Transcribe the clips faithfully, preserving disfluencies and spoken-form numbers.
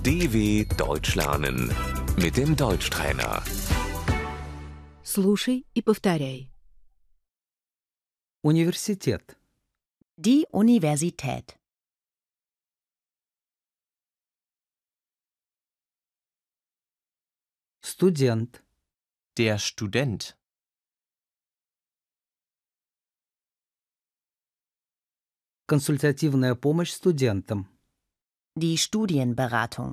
D W Deutsch lernen mit dem Deutschtrainer. Слушай и повторяй. Университет. Die Universität. Студент. Der Student. Консультативная помощь студентам. Die Studienberatung.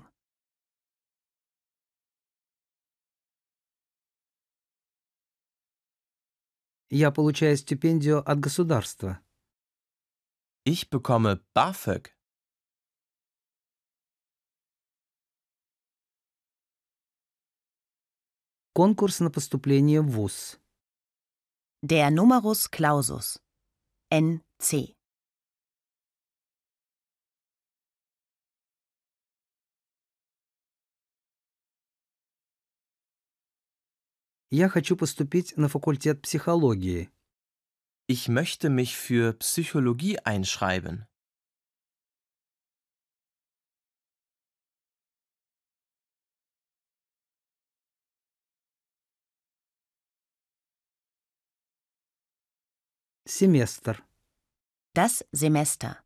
Я получаю стипендию от государства. Ich bekomme BAföG. Конкурс на поступление в вуз. Der Numerus Clausus. N C. Я хочу поступить на факультет психологии. Ich möchte mich für Psychologie einschreiben. Семестр. Das Semester.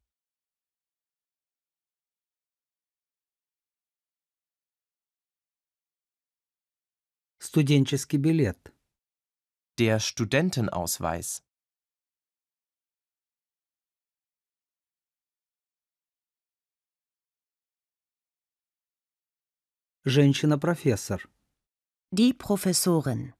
Студенческий билет. Der Studentenausweis. Женщина-профессор. Die Professorin.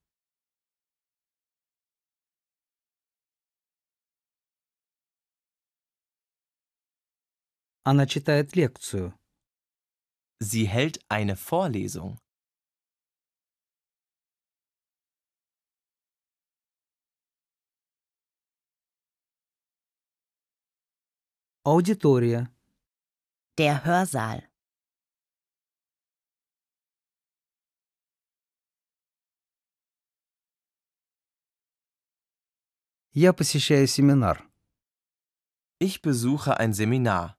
Она читает лекцию. Sie hält eine Vorlesung. Аудитория. Der Hörsaal. Я посещаю семинар. Ich besuche ein Seminar.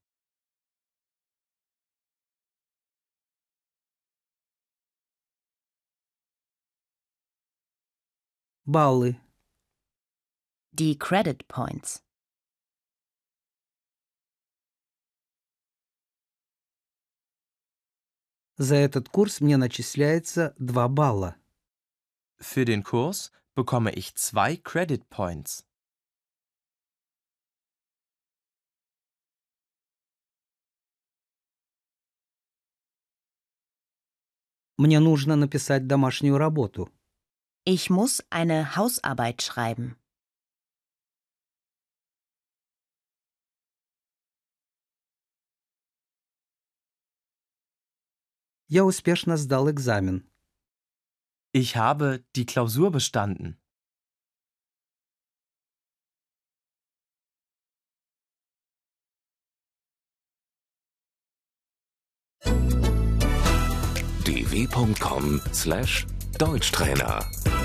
Баллы. Die Credit Points. За этот курс мне начисляется два балла. Für den Kurs bekomme ich zwei Credit Points. Мне нужно написать домашнюю работу. Ich muss eine Hausarbeit schreiben. Я успешно сдал экзамен. Ich habe die Klausur bestanden. d w punkt com slash Deutschtrainer